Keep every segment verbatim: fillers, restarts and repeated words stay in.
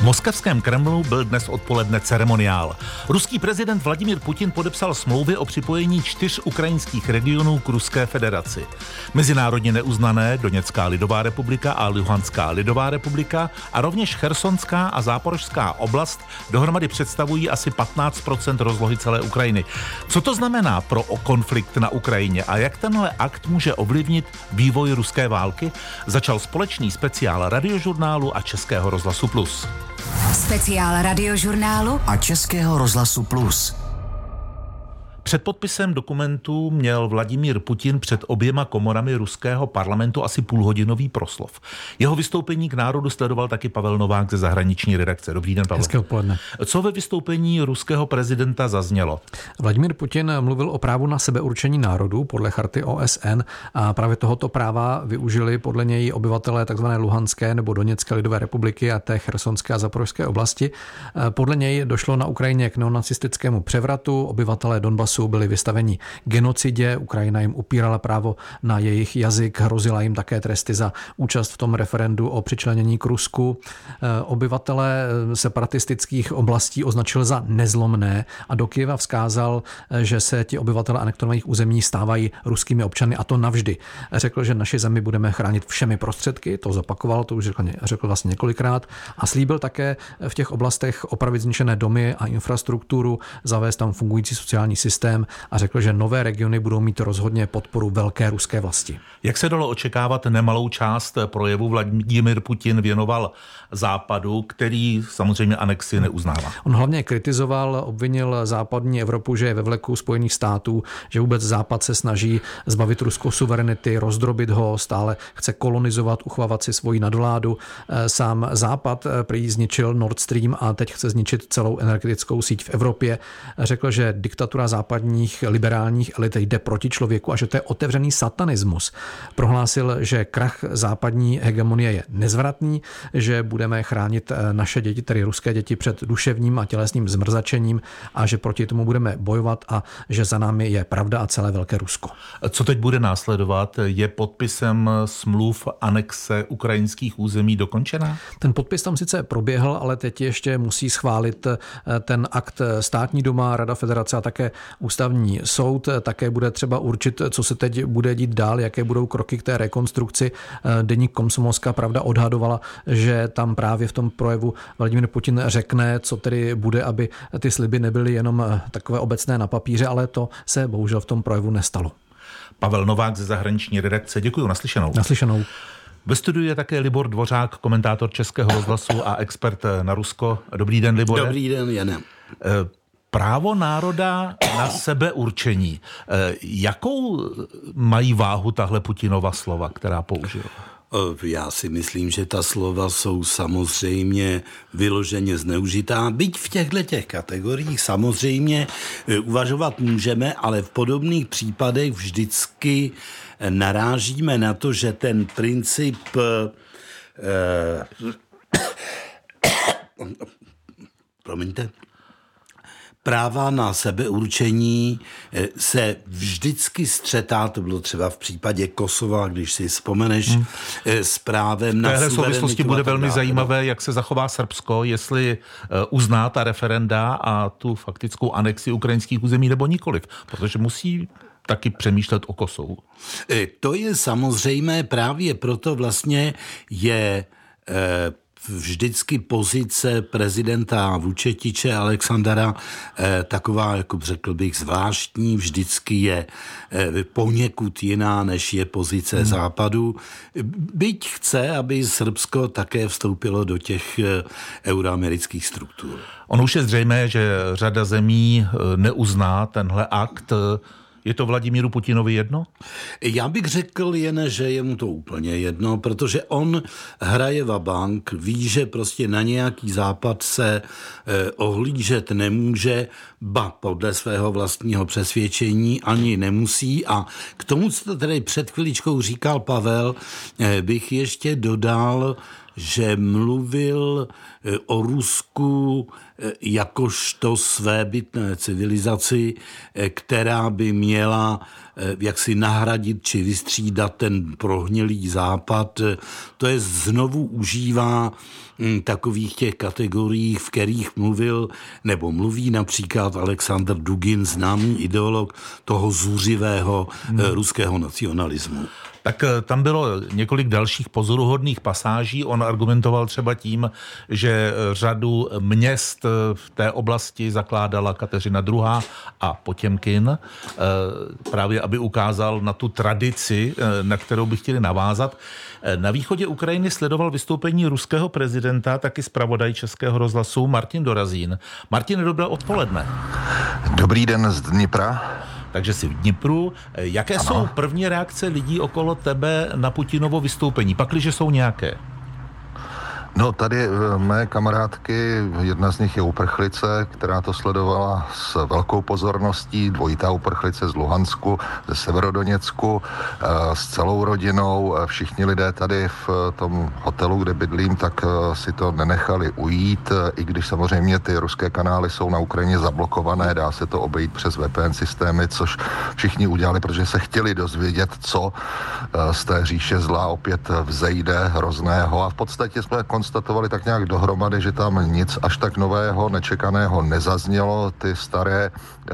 moskevském Kremlu byl dnes odpoledne ceremoniál. Ruský prezident Vladimír Putin podepsal smlouvy o připojení čtyř ukrajinských regionů k Ruské federaci. Mezinárodně neuznané Doněcká lidová republika a Luhanská lidová republika a rovněž Chersonská a Záporožská oblast dohromady představují asi patnáct procent rozlohy celé Ukrajiny. Co to znamená pro konflikt na Ukrajině a jak tenhle akt může ovlivnit vývoj ruské války? Začal společný speciál Radiožurnálu a Českého rozhlasu Plus. Speciál Radiožurnálu a Českého rozhlasu Plus. Před podpisem dokumentu měl Vladimír Putin před oběma komorami ruského parlamentu asi půlhodinový proslov. Jeho vystoupení k národu sledoval taky Pavel Novák ze zahraniční redakce. Dobrý den, Pavel. Hezké odpoledne. Co ve vystoupení ruského prezidenta zaznělo? Vladimír Putin mluvil o právu na sebeurčení národu podle charty O S N a právě tohoto práva využili podle něj obyvatelé tzv. Luhanské nebo Doněcké lidové republiky a té Chersonské a Záporožské oblasti. Podle něj došlo na Ukrajině k neonacistickému převratu, obyvatelé Donbasu byli vystaveni genocidě, Ukrajina jim upírala právo na jejich jazyk, hrozila jim také tresty za účast v tom referendu o přičlenění k Rusku. Obyvatele separatistických oblastí označil za nezlomné a do Kyjeva vzkázal, že se ti obyvatele anektovaných území stávají ruskými občany a to navždy. Řekl, že naši zemi budeme chránit všemi prostředky, to zopakoval, to už řekl, řekl vlastně několikrát a slíbil také v těch oblastech opravit zničené domy a infrastrukturu, zavést tam fungující sociální systém a řekl, že nové regiony budou mít rozhodně podporu velké ruské vlasti. Jak se dalo očekávat, nemalou část projevu Vladimír Putin věnoval Západu, který samozřejmě anexi neuznává. On hlavně kritizoval, obvinil západní Evropu, že je ve vleku Spojených států, že vůbec Západ se snaží zbavit Rusko suverenity, rozdrobit ho, stále chce kolonizovat, uchovávat si svoji nadvládu. Sám Západ prý zničil Nord Stream a teď chce zničit celou energetickou síť v Evropě. Řekl, že diktatura západních liberálních elit jde proti člověku a že to je otevřený satanismus. Prohlásil, že krach západní hegemonie je nezvratný, že budeme chránit naše děti, tedy ruské děti, před duševním a tělesným zmrzačením a že proti tomu budeme bojovat a že za námi je pravda a celé velké Rusko. Co teď bude následovat? Je podpisem smluv anexe ukrajinských území dokončená? Ten podpis tam sice proběhl, ale teď ještě musí schválit ten akt Státní duma, Rada federace a také Ústavní soud. Také bude třeba určit, co se teď bude dít dál, jaké budou kroky k té rekonstrukci. Deník Komsomolská pravda odhadovala, že tam právě v tom projevu Vladimír Putin řekne, co tedy bude, aby ty sliby nebyly jenom takové obecné na papíře, ale to se bohužel v tom projevu nestalo. Pavel Novák ze zahraniční redakce. Děkuji, naslyšenou. Naslyšenou. Ve studiu je také Libor Dvořák, komentátor Českého rozhlasu a expert na Rusko. Dobrý den, Libore. Dobrý den, Jane. Právo národa na sebeurčení. Jakou mají váhu tahle Putinova slova, která použil? Já si myslím, že ta slova jsou samozřejmě vyloženě zneužitá. Byť v těchto těch kategoriích samozřejmě uvažovat můžeme, ale v podobných případech vždycky narážíme na to, že ten princip eh, promiňte, práva na sebeurčení se vždycky střetá, to bylo třeba v případě Kosova, když si vzpomeneš, hmm. s právem na suverenitu. V téhle souvislosti bude velmi zajímavé, jak se zachová Srbsko, jestli uzná ta referenda a tu faktickou anexi ukrajinských území nebo nikoliv, protože musí taky přemýšlet o Kosovu. To je samozřejmé, právě proto vlastně je eh, vždycky pozice prezidenta Vučetiče Alexandra eh, taková, jako řekl bych, zvláštní, vždycky je eh, poněkud jiná, než je pozice hmm. Západu. Byť chce, aby Srbsko také vstoupilo do těch eh, euroamerických struktur. Ono už je zřejmé, že řada zemí neuzná tenhle akt. Je to Vladimíru Putinovi jedno? Já bych řekl jen, že je mu to úplně jedno, protože on hraje vabank, ví, že prostě na nějaký západ se eh, ohlížet nemůže, ba podle svého vlastního přesvědčení ani nemusí. A k tomu, co tady před chviličkou říkal Pavel, eh, bych ještě dodal, že mluvil o Rusku jakožto svébytné civilizaci, která by měla jaksi nahradit či vystřídat ten prohnilý západ. To je znovu užívá takových těch kategorií, v kterých mluvil nebo mluví například Aleksandr Dugin, známý ideolog toho zuřivého hmm. ruského nacionalismu. Tak tam bylo několik dalších pozoruhodných pasáží. On argumentoval třeba tím, že řadu měst v té oblasti zakládala Kateřina druhá. a Potěmkin, právě aby ukázal na tu tradici, na kterou by chtěli navázat. Na východě Ukrajiny sledoval vystoupení ruského prezidenta, taky zpravodaj Českého rozhlasu Martin Dorazín. Martin, dobré odpoledne. Dobrý den z Dnipra. Takže jsi v Dnipru. Jaké ano. jsou první reakce lidí okolo tebe na Putinovo vystoupení, pakliže jsou nějaké? No tady mé kamarádky, jedna z nich je uprchlice, která to sledovala s velkou pozorností, dvojitá uprchlice z Luhansku, ze Severodoněcku, s celou rodinou. Všichni lidé tady v tom hotelu, kde bydlím, tak si to nenechali ujít, i když samozřejmě ty ruské kanály jsou na Ukrajině zablokované, dá se to obejít přes V P N systémy, což všichni udělali, protože se chtěli dozvědět, co z té říše zla opět vzejde hrozného. A v podstatě jsme konstatovali tak nějak dohromady, že tam nic až tak nového, nečekaného nezaznělo. Ty staré e,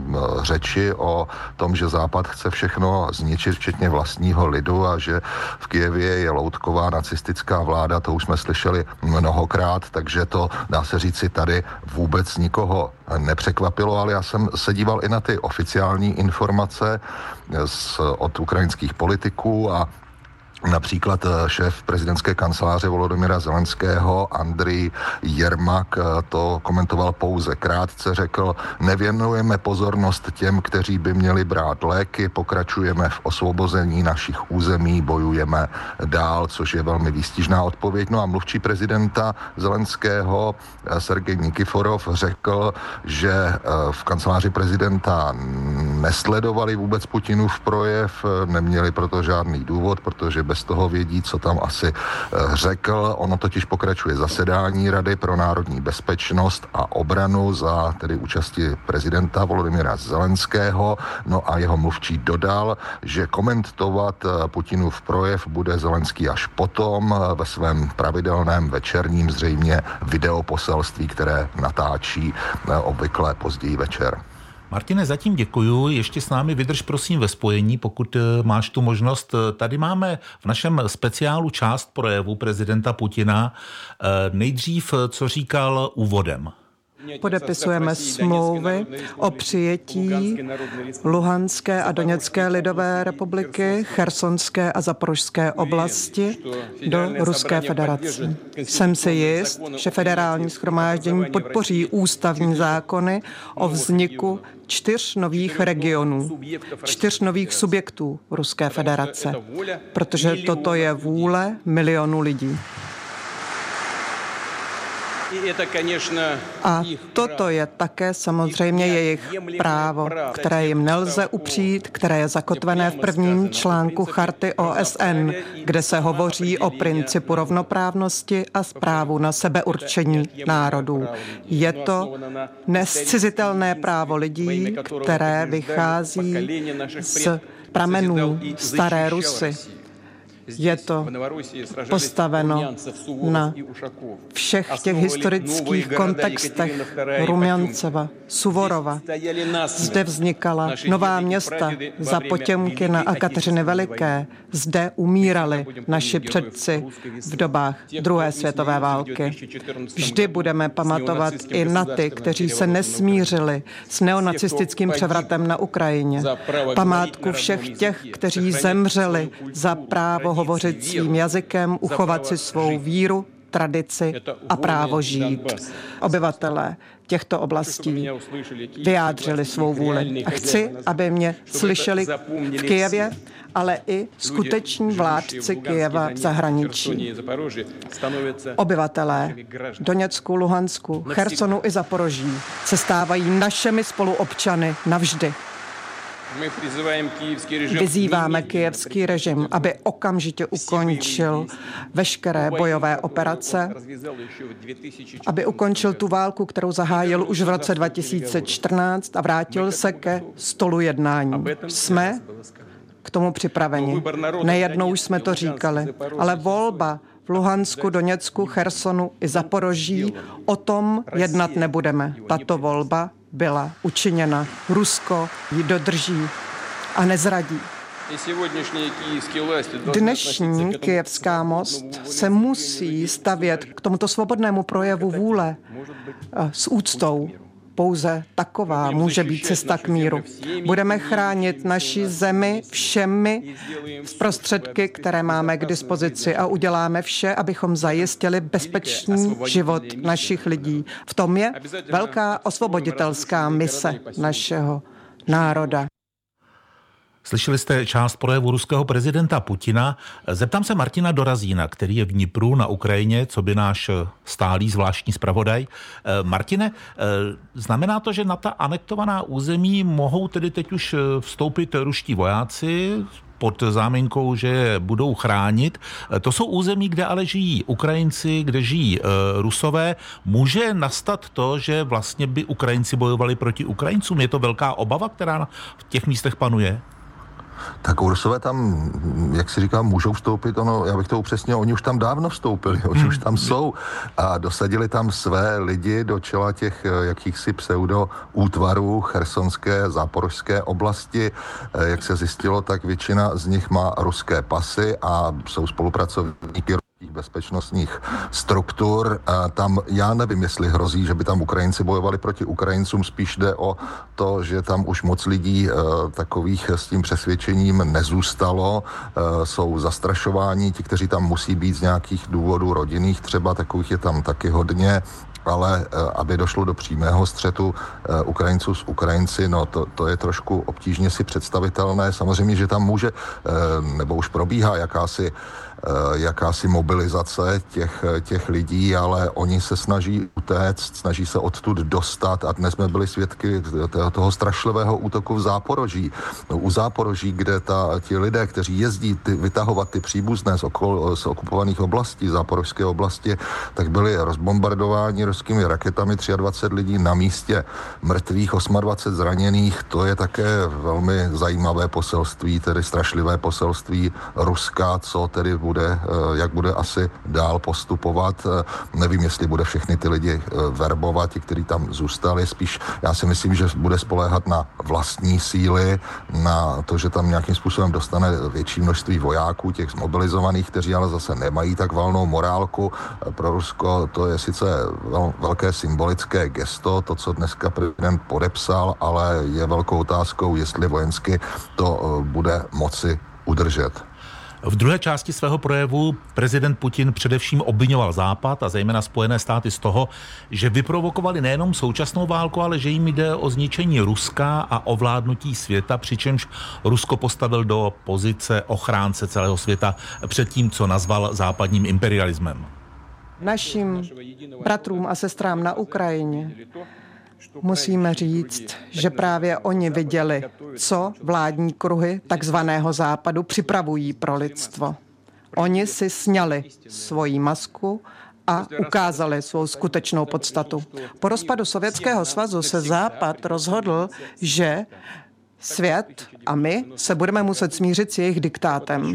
řeči o tom, že Západ chce všechno zničit, včetně vlastního lidu, a že v Kyjevě je loutková nacistická vláda, to už jsme slyšeli mnohokrát, takže to, dá se říci, tady vůbec nikoho nepřekvapilo, ale já jsem se díval i na ty oficiální informace z, od ukrajinských politiků a například šéf prezidentské kanceláře Volodymyra Zelenského Andrej Jermak to komentoval pouze krátce, řekl: nevěnujeme pozornost těm, kteří by měli brát léky, pokračujeme v osvobození našich území, bojujeme dál, což je velmi výstižná odpověď. No a mluvčí prezidenta Zelenského Sergej Nikiforov řekl, že v kanceláři prezidenta nesledovali vůbec Putinův projev, neměli proto žádný důvod, protože bez toho vědí, co tam asi řekl. Ono totiž pokračuje zasedání Rady pro národní bezpečnost a obranu za tedy účasti prezidenta Volodymyra Zelenského. No a jeho mluvčí dodal, že komentovat Putinův projev bude Zelenský až potom ve svém pravidelném večerním zřejmě videoposelství, které natáčí obvykle později večer. Martine, zatím děkuju. Ještě s námi vydrž prosím ve spojení, pokud máš tu možnost. Tady máme v našem speciálu část projevu prezidenta Putina. Nejdřív, co říkal úvodem. Podepisujeme smlouvy o přijetí Luhanské a Doněcké lidové republiky, Chersonské a Zaporožské oblasti do Ruské federace. Jsem si jist, že federální shromáždění podpoří ústavní zákony o vzniku čtyř nových regionů, čtyř nových subjektů Ruské federace, protože toto je vůle milionů lidí. A toto je také samozřejmě jejich právo, které jim nelze upřít, které je zakotvené v prvním článku Charty O S N, kde se hovoří o principu rovnoprávnosti a právu na sebeurčení národů. Je to nezcizitelné právo lidí, které vychází z pramenů staré Rusy. Je to postaveno na všech těch historických kontextech Rumjanceva, Suvorova. Zde vznikala nová města za Potěmkina a Kateřiny Veliké. Zde umírali naši předci v dobách druhé světové války. Vždy budeme pamatovat i na ty, kteří se nesmířili s neonacistickým převratem na Ukrajině. Památku všech těch, kteří zemřeli za právo hovořit svým jazykem, uchovat si svou víru, tradici a právo žít. Obyvatelé těchto oblastí vyjádřili svou vůli. A chci, aby mě slyšeli v Kyjevě, ale i skuteční vládci Kyjeva v zahraničí. Obyvatelé Doněcku, Luhansku, Chersonu i Zaporoží se stávají našimi spoluobčany navždy. Vyzýváme kyjevský režim, aby okamžitě ukončil veškeré bojové operace, aby ukončil tu válku, kterou zahájil už v roce dva tisíce čtrnáct a vrátil se ke stolu jednání. Jsme k tomu připraveni. Nejednou už jsme to říkali, ale volba v Luhansku, Doněcku, Chersonu i Zaporoží, o tom jednat nebudeme. Tato volba byla učiněna. Rusko ji dodrží a nezradí. Dnešní kyjevská most se musí stavět k tomuto svobodnému projevu vůle s úctou. Pouze taková může být cesta k míru. Budeme chránit naši zemi všemi prostředky, které máme k dispozici a uděláme vše, abychom zajistili bezpečný život našich lidí. V tom je velká osvoboditelská mise našeho národa. Slyšeli jste část projevu ruského prezidenta Putina. Zeptám se Martina Dorazína, který je v Dnipru na Ukrajině, co by náš stálý zvláštní zpravodaj. Martine, znamená to, že na ta anektovaná území mohou tedy teď už vstoupit ruští vojáci pod záminkou, že je budou chránit? To jsou území, kde ale žijí Ukrajinci, kde žijí Rusové. Může nastat to, že vlastně by Ukrajinci bojovali proti Ukrajincům? Je to velká obava, která v těch místech panuje? Tak Rusové tam, jak si říkám, můžou vstoupit, ono, já bych to upřesnil, oni už tam dávno vstoupili, oni už tam jsou a dosadili tam své lidi do čela těch jakýchsi pseudo útvarů chersonské, záporožské oblasti. Jak se zjistilo, tak většina z nich má ruské pasy a jsou spolupracovníky bezpečnostních struktur. A tam já nevím, jestli hrozí, že by tam Ukrajinci bojovali proti Ukrajincům, spíš jde o to, že tam už moc lidí e, takových s tím přesvědčením nezůstalo. E, jsou zastrašováni, ti, kteří tam musí být z nějakých důvodů rodinných, třeba takových je tam taky hodně, ale aby došlo do přímého střetu Ukrajinců s Ukrajinci, no to, to je trošku obtížně si představitelné. Samozřejmě, že tam může, nebo už probíhá jakási jakási mobilizace těch, těch lidí, ale oni se snaží utéct, snaží se odtud dostat a dnes jsme byli svědky toho, toho strašlivého útoku v Záporoží. U Záporoží, kde ta, ti lidé, kteří jezdí ty, vytahovat ty příbuzné z, okol, z okupovaných oblastí, záporožské oblasti, tak byli rozbombardováni ruskými raketami, dvacet tři lidí na místě mrtvých, dvacet osm zraněných. To je také velmi zajímavé poselství, tedy strašlivé poselství Ruska, co tedy bude, jak bude asi dál postupovat. Nevím, jestli bude všechny ty lidi verbovat, ti, kteří tam zůstali. Spíš já si myslím, že bude spoléhat na vlastní síly, na to, že tam nějakým způsobem dostane větší množství vojáků, těch zmobilizovaných, kteří ale zase nemají tak valnou morálku. Pro Rusko to je sice velké symbolické gesto, to, co dneska prezident podepsal, ale je velkou otázkou, jestli vojensky to bude moci udržet. V druhé části svého projevu prezident Putin především obviňoval Západ a zejména Spojené státy z toho, že vyprovokovali nejenom současnou válku, ale že jim jde o zničení Ruska a ovládnutí světa, přičemž Rusko postavil do pozice ochránce celého světa před tím, co nazval západním imperialismem. Našim bratrům a sestrám na Ukrajině musíme říct, že právě oni viděli, co vládní kruhy takzvaného západu připravují pro lidstvo. Oni si sňali svoji masku a ukázali svou skutečnou podstatu. Po rozpadu Sovětského svazu se Západ rozhodl, že svět a my se budeme muset smířit s jejich diktátem.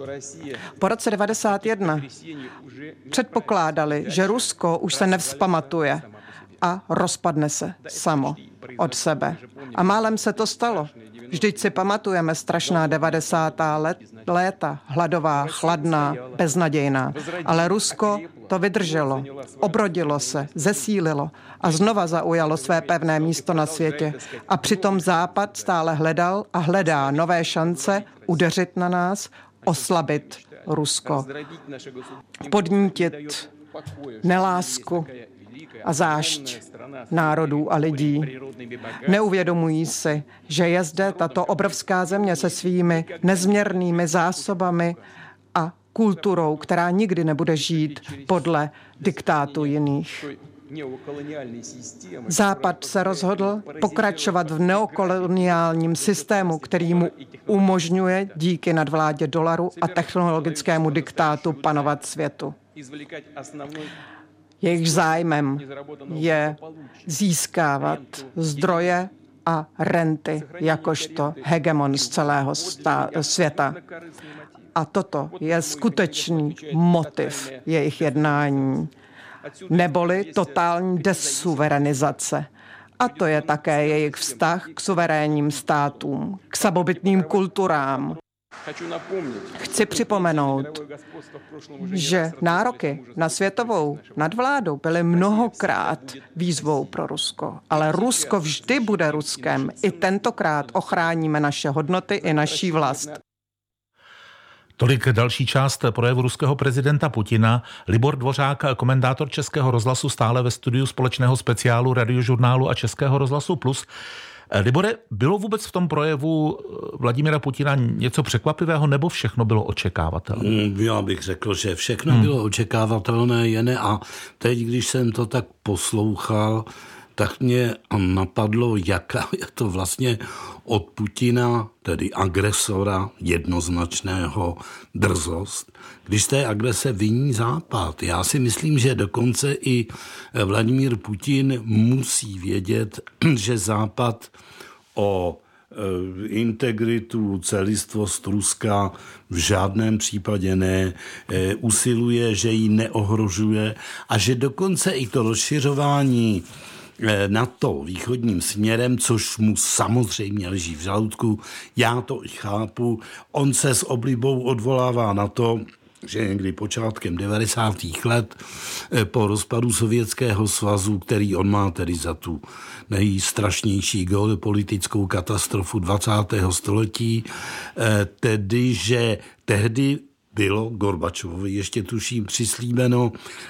Po roce devadesát jedna předpokládali, že Rusko už se nevzpamatuje a rozpadne se samo od sebe. A málem se to stalo. Vždyť si pamatujeme strašná devadesátá let, léta, hladová, chladná, beznadějná. Ale Rusko to vydrželo, obrodilo se, zesílilo a znova zaujalo své pevné místo na světě. A přitom Západ stále hledal a hledá nové šance udeřit na nás, oslabit Rusko, podnítit nelásku a zášť národů a lidí. Neuvědomují si, že je zde tato obrovská země se svými nezměrnými zásobami a kulturou, která nikdy nebude žít podle diktátu jiných. Západ se rozhodl pokračovat v neokoloniálním systému, který mu umožňuje díky nadvládě dolaru a technologickému diktátu panovat světu. Jejich zájmem je získávat zdroje a renty jakožto hegemon z celého světa. A toto je skutečný motiv jejich jednání, neboli totální desuverenizace. A to je také jejich vztah k suverénním státům, k samobytným kulturám. Chci připomenout, že nároky na světovou nadvládu byly mnohokrát výzvou pro Rusko, ale Rusko vždy bude Ruskem. I tentokrát ochráníme naše hodnoty i naší vlast. Tolik další část projevu ruského prezidenta Putina. Libor Dvořák, komentátor Českého rozhlasu, stále ve studiu společného speciálu Radiožurnálu a Českého rozhlasu Plus. Libore, bylo vůbec v tom projevu Vladimira Putina něco překvapivého, nebo všechno bylo očekávatelné? Já bych řekl, že všechno hmm. bylo očekávatelné, jen a teď, když jsem to tak poslouchal, tak mě napadlo, jaká je to vlastně od Putina, tedy agresora jednoznačného, drzost, když z té agrese viní Západ. Já si myslím, že dokonce i Vladimír Putin musí vědět, že Západ o integritu, celistvost Ruska v žádném případě ne, usiluje, že ji neohrožuje a že dokonce i to rozšiřování NATO východním směrem, což mu samozřejmě leží v žaludku, já to i chápu, on se s oblibou odvolává na to, že někdy počátkem devadesátých let po rozpadu Sovětského svazu, který on má tedy za tu nejstrašnější geopolitickou katastrofu dvacátého století, tedy, že tehdy bylo Gorbačovovi ještě tuším přislíbeno,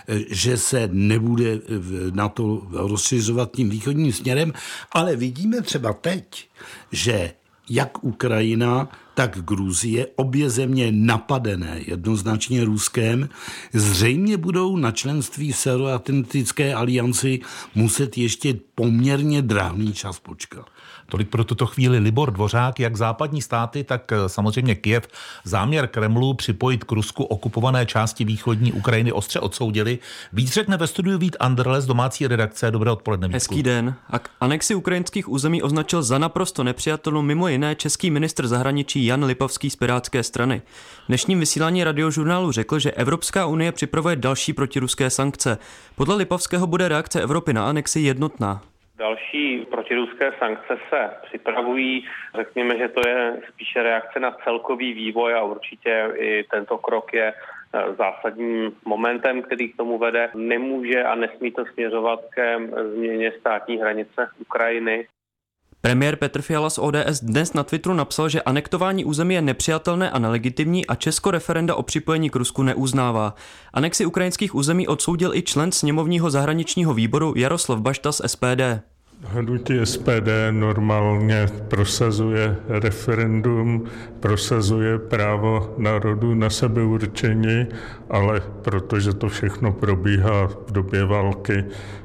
že se nebude na to rozšiřovat tím východním směrem, ale vidíme třeba teď, že jak Ukrajina, tak Gruzie, obě země napadené jednoznačně Ruskem, zřejmě budou na členství v Severoatlantické alianci muset ještě poměrně drahný čas počkat. Tolik pro tuto chvíli Libor Dvořák. Jak západní státy, tak samozřejmě Kyjev záměr Kremlu připojit k Rusku okupované části východní Ukrajiny ostře odsoudili. Víc řekne ve studiu Vít Anderle z domácí redakce. Dobré odpoledne. Hezký den. A anexi ukrajinských území označil za naprosto nepřijatelnou mimo jiné český ministr zahraničí Jan Lipavský z Pirátské strany. V dnešním vysílání Radiožurnálu řekl, že Evropská unie připravuje další protiruské sankce. Podle Lipavského bude reakce Evropy na anexi jednotná. Další protiruské sankce se připravují. Řekněme, že to je spíše reakce na celkový vývoj a určitě i tento krok je zásadním momentem, který k tomu vede. Nemůže a nesmí to směřovat ke změně státní hranice Ukrajiny. Premiér Petr Fiala z O D S dnes na Twitteru napsal, že anektování území je nepřijatelné a nelegitimní a Česko referenda o připojení k Rusku neuznává. Anexi ukrajinských území odsoudil i člen sněmovního zahraničního výboru Jaroslav Bašta z S P D. Hnutí S P D normálně prosazuje referendum, prosazuje právo národu na sebeurčení, ale protože to všechno probíhá v době války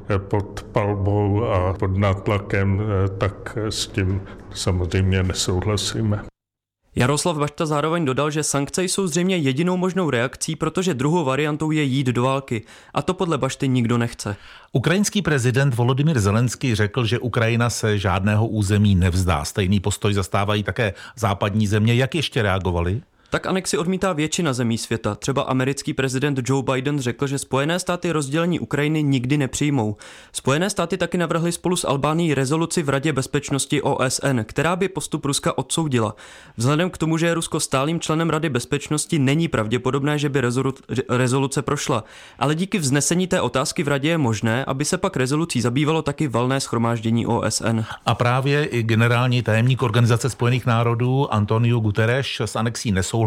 pod palbou a pod nátlakem, tak s tím samozřejmě nesouhlasíme. Jaroslav Bašta zároveň dodal, že sankce jsou zřejmě jedinou možnou reakcí, protože druhou variantou je jít do války. A to podle Bašty nikdo nechce. Ukrajinský prezident Volodymyr Zelenský řekl, že Ukrajina se žádného území nevzdá. Stejný postoj zastávají také západní země. Jak ještě reagovali? Tak anexi odmítá většina zemí světa. Třeba americký prezident Joe Biden řekl, že Spojené státy rozdělení Ukrajiny nikdy nepřijmou. Spojené státy taky navrhly spolu s Albánií rezoluci v Radě bezpečnosti O S N, která by postup Ruska odsoudila. Vzhledem k tomu, že je Rusko stálým členem Rady bezpečnosti, není pravděpodobné, že by rezoluce prošla. Ale díky vznesení té otázky v Radě je možné, aby se pak rezolucí zabývalo taky valné shromáždění O S N. A právě i generální tajemník Organizace spojených národů Antonio Guterres s anexí nesouhlasí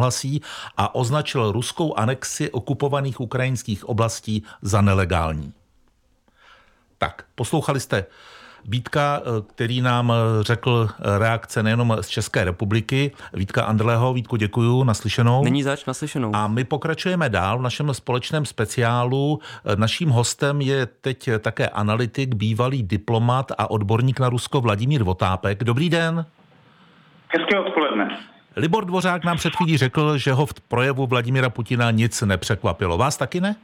a označil ruskou anexi okupovaných ukrajinských oblastí za nelegální. Tak, poslouchali jste Vítka, který nám řekl reakce nejenom z České republiky. Vítka Andrleho. Vítku, děkuju, naslyšenou. Není zač, naslyšenou. A my pokračujeme dál v našem společném speciálu. Naším hostem je teď také analytik, bývalý diplomat a odborník na Rusko Vladimír Votápek. Dobrý den. Hezké odpoledne. Libor Dvořák nám před chvílí řekl, že ho v projevu Vladimíra Putina nic nepřekvapilo. Vás taky ne?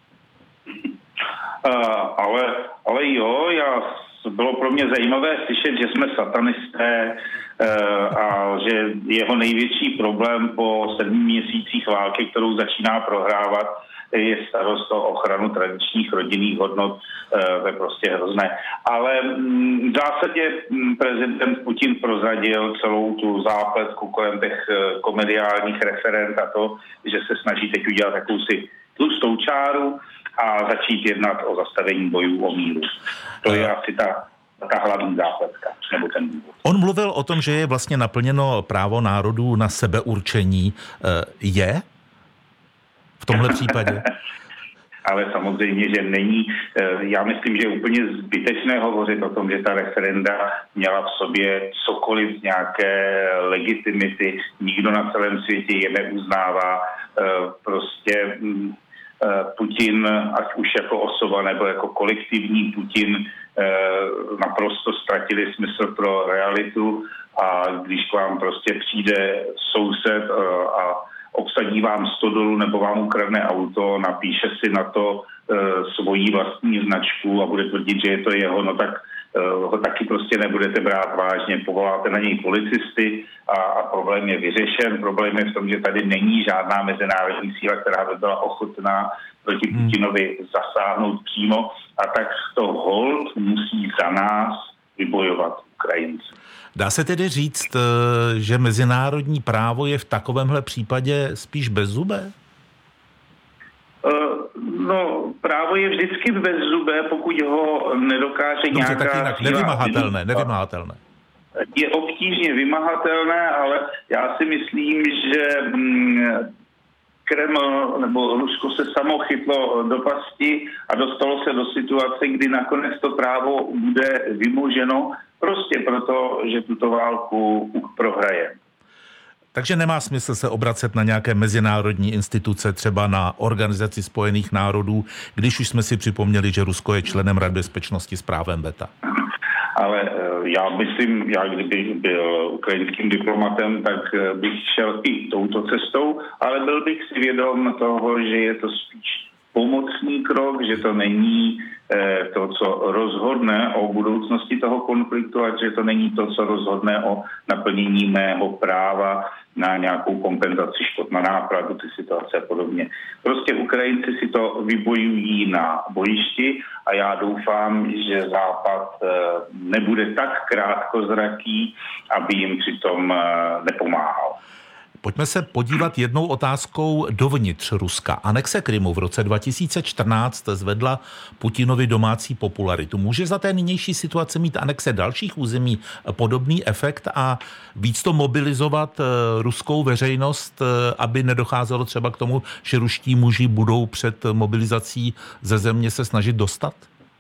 Uh, ale, ale jo, já, bylo pro mě zajímavé slyšet, že jsme satanisté uh, a že jeho největší problém po sedmi měsících války, kterou začíná prohrávat, je starost o ochranu tradičních rodinných hodnot, to je prostě hrozné. Ale v zásadě prezident Putin prozradil celou tu zápletku kolem těch komediálních referent a to, že se snaží teď udělat jakousi tlustou čáru a začít jednat o zastavení bojů o míru. To je asi ta, ta hlavní zápletka, nebo ten důvod. On mluvil o tom, že je vlastně naplněno právo národů na sebeurčení. Je? V tomhle případě? Ale samozřejmě, že není. Já myslím, že je úplně zbytečné hovořit o tom, že ta referenda měla v sobě cokoliv z nějaké legitimity. Nikdo na celém světě je neuznává. Prostě Putin, ať už jako osoba nebo jako kolektivní Putin, naprosto ztratili smysl pro realitu a když k vám prostě přijde soused a obsadí vám stodolu nebo vám ukradne auto, napíše si na to e, svoji vlastní značku a bude tvrdit, že je to jeho, no tak e, ho taky prostě nebudete brát vážně, povoláte na něj policisty a, a problém je vyřešen. Problém je v tom, že tady není žádná mezinárodní síla, která by byla ochotná proti Putinovi zasáhnout přímo a tak to hold musí za nás vybojovat Ukrajinci. Dá se tedy říct, že mezinárodní právo je v takovémhle případě spíš bezzubé? No, právo je vždycky bezzubé, pokud ho nedokáže Dobře, nějaká... tak jinak, nevymahatelné, nevymahatelné. Je obtížně vymahatelné, ale já si myslím, že Kreml nebo Rusko se samo chytlo do pasti a dostalo se do situace, kdy nakonec to právo bude vymoženo prostě proto, že tuto válku prohraje. Takže nemá smysl se obracet na nějaké mezinárodní instituce, třeba na Organizaci spojených národů, když už jsme si připomněli, že Rusko je členem Rady bezpečnosti s právem veta. Ale já myslím, já kdybych byl ukrajinským diplomatem, tak bych šel i touto cestou, ale byl bych si vědom toho, že je to spíš pomocný krok, že to není eh, to, co rozhodne o budoucnosti toho konfliktu a že to není to, co rozhodne o naplnění mého práva na nějakou kompenzaci škod, na nápravu ty situace a podobně. Prostě Ukrajinci si to vybojují na bojišti a já doufám, že Západ eh, nebude tak krátkozraký, aby jim přitom eh, nepomáhal. Pojďme se podívat jednou otázkou dovnitř Ruska. Anexe Krymu v roce dva tisíce čtrnáct zvedla Putinovi domácí popularitu. Může za té nynější situace mít anexe dalších území podobný efekt a víc to mobilizovat ruskou veřejnost, aby nedocházelo třeba k tomu, že ruští muži budou před mobilizací ze země se snažit dostat?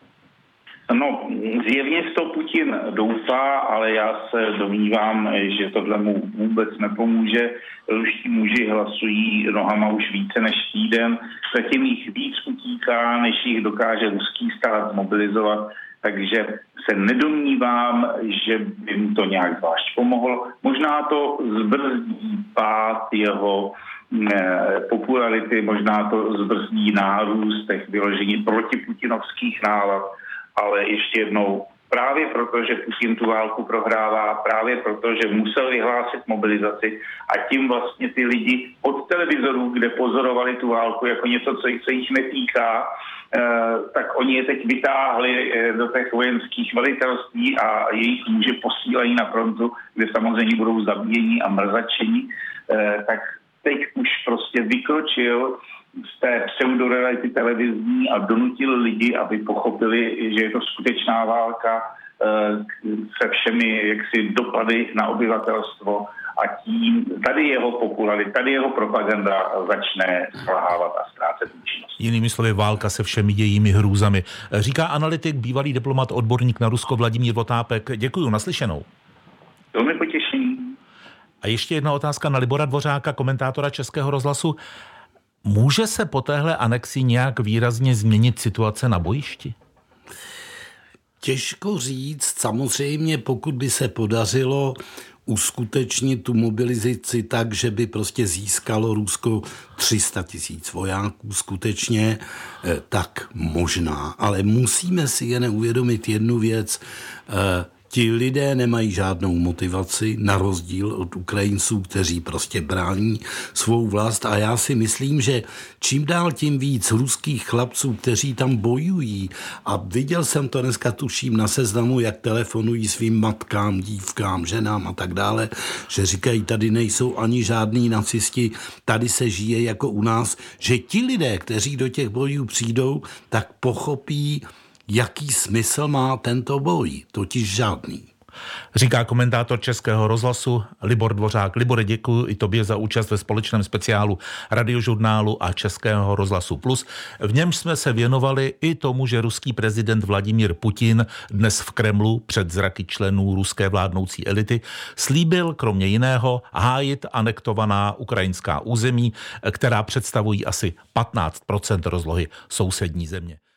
No, zjevně to Putin doufá, ale já se domnívám, že tohle mu vůbec nepomůže. Ruští muži hlasují nohama už více než týden, zatím jich víc utíká, než jich dokáže ruský stát zmobilizovat, takže se nedomnívám, že by mu to nějak zvlášť pomohlo. Možná to zbrzdí pád jeho popularity, možná to zbrzdí nárůst těch vyložení protiputinovských nálad, ale ještě jednou, právě proto, že Putin tu válku prohrává, právě proto, že musel vyhlásit mobilizaci a tím vlastně ty lidi od televizorů, kde pozorovali tu válku jako něco, co se jich netýká, eh, tak oni je teď vytáhli eh, do těch vojenských velitelství a jejich muže posílají na frontu, kde samozřejmě budou zabíjení a mrzačení, eh, tak teď už prostě vykročil z té pseudoreality televizní a donutil lidi, aby pochopili, že je to skutečná válka, se všemi jaksi dopady na obyvatelstvo a tím tady jeho popularita, tady jeho propaganda začne selhávat a ztrácet účinnost. Jinými slovy, válka se všemi jejími hrůzami. Říká analytik, bývalý diplomat, odborník na Rusko Vladimír Votápek. Děkuju, naslyšenou. Velmi potěšení. A ještě jedna otázka na Libora Dvořáka, komentátora Českého rozhlasu. Může se po téhle anexi nějak výrazně změnit situace na bojišti? Těžko říct, samozřejmě pokud by se podařilo uskutečnit tu mobilizaci tak, že by prostě získalo Rusko tři sta tisíc vojáků skutečně, tak možná. Ale musíme si jen uvědomit jednu věc. Ti lidé nemají žádnou motivaci, na rozdíl od Ukrajinců, kteří prostě brání svou vlast. A já si myslím, že čím dál tím víc ruských chlapců, kteří tam bojují, a viděl jsem to dneska, tuším, na Seznamu, jak telefonují svým matkám, dívkám, ženám a tak dále, že říkají, tady nejsou ani žádní nacisti, tady se žije jako u nás, že ti lidé, kteří do těch bojů přijdou, tak pochopí, jaký smysl má tento boj, totiž žádný. Říká komentátor Českého rozhlasu Libor Dvořák. Libore, děkuji i tobě za účast ve společném speciálu Radiožurnálu a Českého rozhlasu Plus. V němž jsme se věnovali i tomu, že ruský prezident Vladimír Putin dnes v Kremlu před zraky členů ruské vládnoucí elity slíbil kromě jiného hájit anektovaná ukrajinská území, která představují asi patnáct procent rozlohy sousední země.